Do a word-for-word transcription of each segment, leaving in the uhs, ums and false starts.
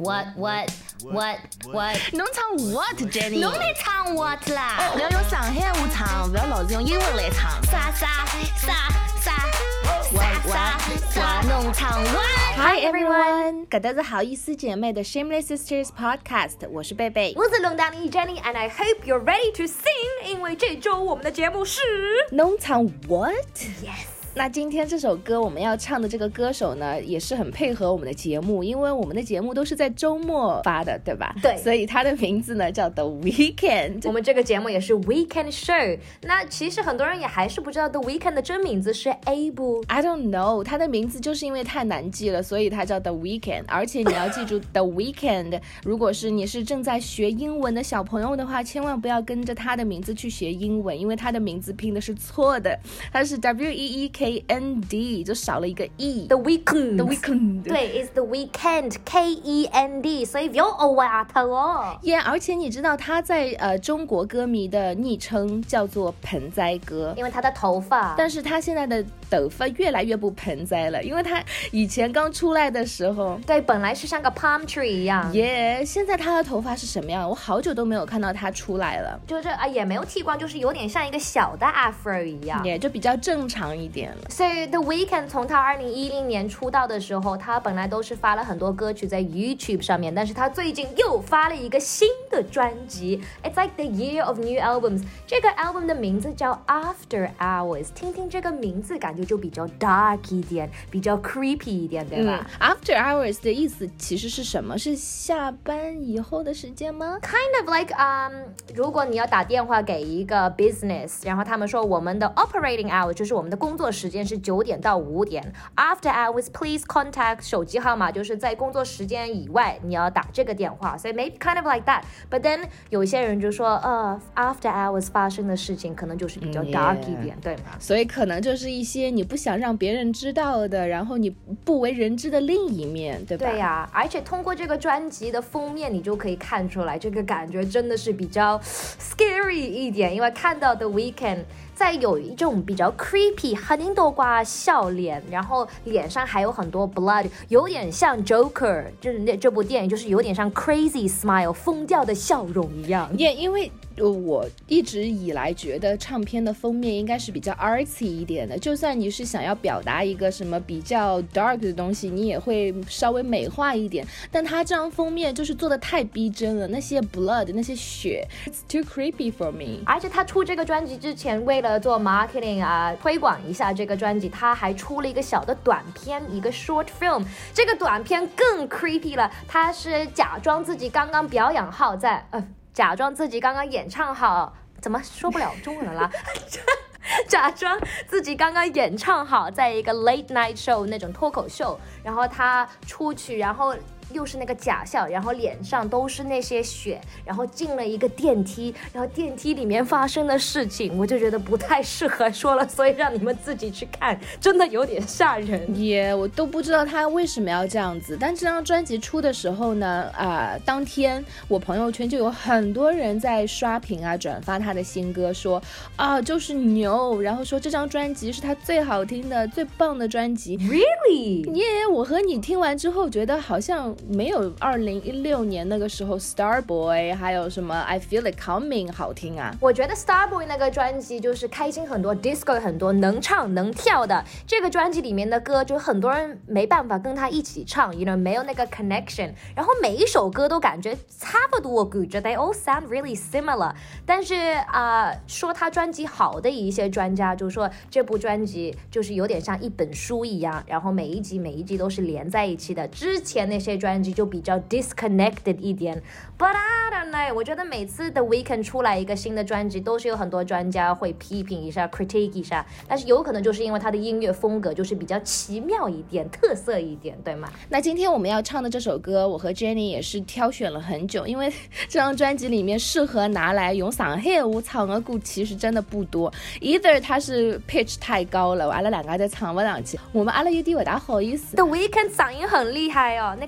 what what what what 侬唱 what Jenny 侬来唱 what 啦不要用上海话唱，不要老是用英文来唱。 啥啥啥啥啥啥啥侬唱 what Hi everyone， 搿搭是好意思姐妹的 Shameless Sisters Podcast， 我是贝贝， 我是龙丹妮 Jenny and I hope you're ready to sing， 因为这周我们的节目是侬唱 what Yes。 那今天这首歌我们要唱的这个歌手呢，也是很配合我们的节目，因为我们的节目都是在周末发的，对吧？ 对， 所以他的名字呢叫 The Weeknd。 我们这个节目也是 Weekend Show。那其实很多人也还是不知道 The Weeknd 的真名字是 Abel。 I don't know， 他的名字就是因为太难记了，所以他叫 The Weeknd。而且你要记住The Weeknd， 如果是你是正在学英文的小朋友的话，千万不要跟着他的名字去学英文，因为他的名字拼的是错的，他是 W E E K K N D 就少了一个 E。 The Weeknd The Weeknd 对 is the Weeknd K E N D， 所以不要偶尔头哦。 耶、yeah, 而且你知道他在呃中国歌迷的昵称叫做盆栽哥， 因为他的头发， 但是他现在的头发越来越不盆栽了，因为他以前刚出来的时候， 对，本来是像个 palm tree 一样。 耶、yeah, 现在他的头发是什么样？我好久都没有看到他出来了， 就是啊，也没有剃光，就是有点像一个小的 afro 一样， 也、yeah, 就比较正常一点了。 所以 The Weeknd 从他二零一零年出道的时候，他本来都是发了很多歌曲在 YouTube 上面，但是他最近又发了一个新的专辑 It's like the year of new albums。 这个 album 的名字叫 After Hours， 听听这个名字感觉就比较 dark 一点，比较 creepy 一点，对吧、 嗯、After Hours 的意思其实是什么？是下班以后的时间吗？ Kind of like um， 如果你要打电话给一个 business， 然后他们说我们的 operating hour 就是我们的工作时间是九点到五点， After hours please contact， 手机号码就是在工作时间以外你要打这个电话，所以 maybe kind of like that。 But then 有些人就说呃 After hours 发生的事情可能就是比较 dark 一点、yeah. 对吗？ 所以可能就是一些你不想让别人知道的，然后你不为人知的另一面，对吧？ 对呀、啊，而且通过这个专辑的封面你就可以看出来，这个感觉真的是比较 scary 一点，因为看到 The Weeknd在有一种比较 creepy 很多挂笑脸，然后脸上还有很多 blood， 有点像 Joker， 就是那这部电影就是有点像 crazy smile 疯掉的笑容一样。 也、yeah, 因为我一直以来觉得唱片的封面应该是比较 artsy 一点的，就算你是想要表达一个什么比较 dark 的东西，你也会稍微美化一点，但它这张封面就是做的太逼真了，那些 blood 那些血 It's too creepy for me。 而且他出这个专辑之前，为了做 marketing 啊，推广一下这个专辑，他还出了一个小的短片，一个 short film。 这个短片更 creepy 了，他是假装自己刚刚表演好在呃假装自己刚刚演唱好，怎么说不了中文了啦假装自己刚刚演唱好在一个 late night show 那种脱口秀，然后他出去，然后又是那个假笑，然后脸上都是那些血，然后进了一个电梯，然后电梯里面发生的事情我就觉得不太适合说了，所以让你们自己去看，真的有点吓人。 也、yeah, 我都不知道他为什么要这样子。但这张专辑出的时候呢，啊、呃，当天我朋友圈就有很多人在刷屏啊，转发他的新歌，说啊就是牛，然后说这张专辑是他最好听的、最棒的专辑。 Really？ 耶、yeah, 我和你听完之后觉得好像没有二零一六年那个时候 Starboy 还有什么 I Feel It Coming 好听啊。 我觉得 Starboy 那个专辑就是开心很多， disco 很多，能唱能跳的。这个专辑里面的歌就很多人没办法跟他一起唱 you know 没有那个 connection， 然后每一首歌都感觉差不多，我觉得 they all sound really similar。 但是啊、呃，说他专辑好的一些专家就说这部专辑就是有点像一本书一样，然后每一集每一集都是连在一起的，之前那些专辑就比较 disconnected 一点。 But I don't know， 我觉得每次 The Weeknd 出来一个新的专辑都是有很多专家会批评一下 critique 一下，但是有可能就是因为他的音乐风格就是比较奇妙一点，特色一点，对吗？ 那今天我们要唱的这首歌我和 Jenny 也是挑选了很久，因为这张专辑里面适合拿来用上海话唱的歌其实真的不多， either 它是 pitch 太高了，阿拉两个再唱不上去，我们阿拉有点不大好意思。 The Weeknd 嗓音很厉害哦，那个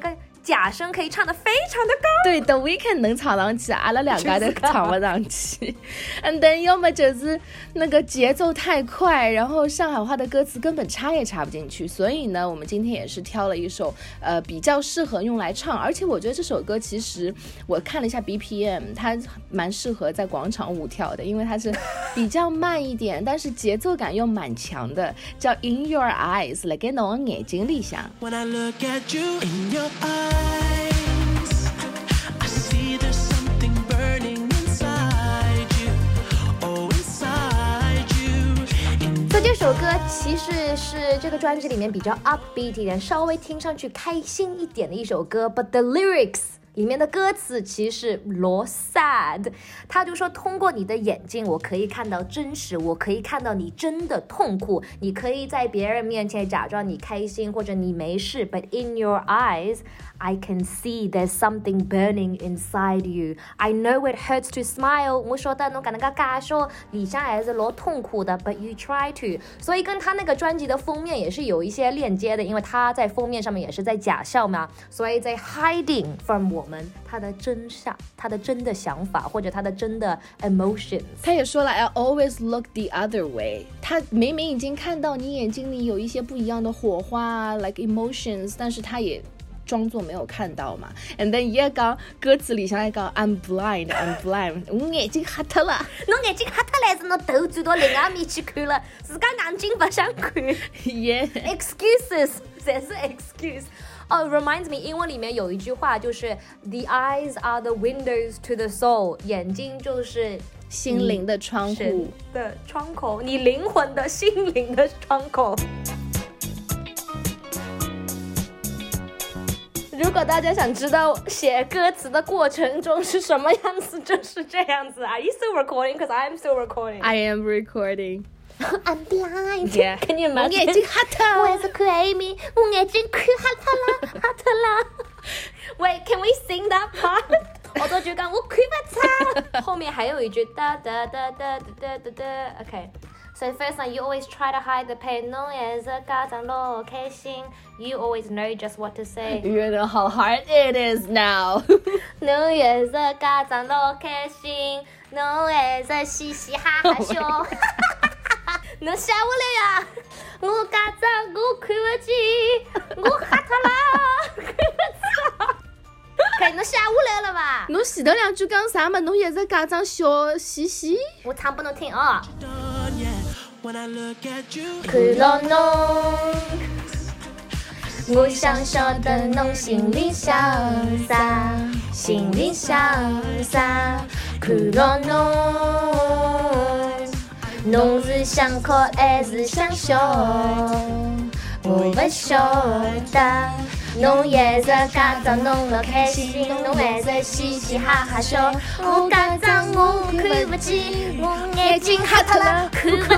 假声可以唱得非常的高。 对 The Weeknd 能唱上去，阿拉两个都唱不上去。And then 要么就是那个节奏太快，然后上海话的歌词根本插也插不进去。所以呢，我们今天也是挑了一首呃比较适合用来唱，而且我觉得这首歌其实我看了一下 B P M， 它蛮适合在广场舞跳的，因为它是比较慢一点，但是节奏感又蛮强的，叫 In Your Eyes， 来给侬的眼睛里向。When I look at you in your eyes, I see there's something burning inside you, oh inside you. 所以这首歌其实是这个专辑里面比较 upbeat 一点，稍微听上去开心一点的一首歌 ，but the lyrics里面的歌词其实罗 sad， 他就说通过你的眼睛我可以看到真实，我可以看到你真的痛苦，你可以在别人面前假装你开心或者你没事 but in your eyes I can see there's something burning inside you. I know it hurts to smile. 我说的侬搿能介假说里向还是老痛苦的 but you try to. 所以跟他那个专辑的封面也是有一些链接的，因为他在封面上面也是在假笑嘛，所以在 hiding from 我们他的真相，他的真的想法或者他的真的 emotions。 他也说了 I always look the other way， 他明明已经看到你眼睛里有一些不一样的火花 like emotions， 但是他也装作没有看到嘛。 And then 也讲歌词里向来讲 I'm blind I'm blind 我眼睛瞎脱了， 侬眼睛瞎脱了还是侬头转到另外面去看了，自家眼睛不想看。 yeah excuses 侪是 excuse。 哦、oh, reminds me 英文里面有一句话就是 The eyes are the windows to the soul， 眼睛就是心灵的窗户的窗口，你灵魂的心灵的窗口。如果大家想知道写歌词的过程中是什么样子，就是这样子。 Are you still recording? Because I'm still recording. I am recording. I'm blind. Yeah. Can you imagine? 我眼睛瞎脱， 我也是看艾米，我眼睛看瞎脱了，瞎脱了。Wait, can we sing that part? 我都觉得我看不出。后面还有一句哒哒哒哒哒哒哒。Okay. So first one, you always try to hide the pain. 侬也是家长老开心。You always know just what to say. You know how hard it is now. 侬也是家长老开心，侬也是嘻嘻哈哈笑。侬吓我了呀！我家长我看不见，我吓脱了，看不着。可侬吓我来了吧？ 侬前头两句讲啥嘛？侬也是家长笑嘻嘻。 我唱给侬听啊！ 看到侬，我想晓得侬心里想啥，心里想啥。看到侬，侬是想哭还是想笑？我不晓得。侬也是家长侬老开心，侬还是嘻嘻哈哈笑。我家长我看不见，我眼睛瞎脱了，看不